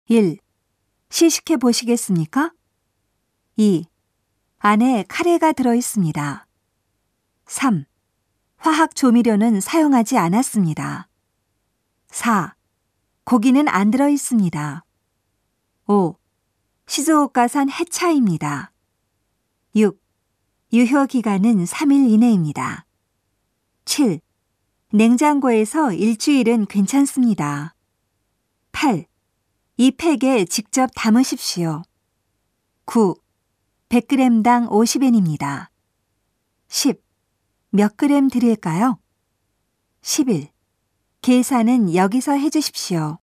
1. 시식해 보시겠습니까? 2. 안에 카레가 들어있습니다. 3. 화학 조미료는 사용하지 않았습니다. 4. 고기는 안 들어있습니다. 5. 시즈오카산 해차입니다. 6. 유효 기간은 3일 이내입니다. 7. 냉장고에서 일주일은 괜찮습니다. 8. 이 팩에 직접 담으십시오. 9. 100g당 50엔입니다. 10. 몇 그램 드릴까요? 11. 계산은 여기서 해주십시오.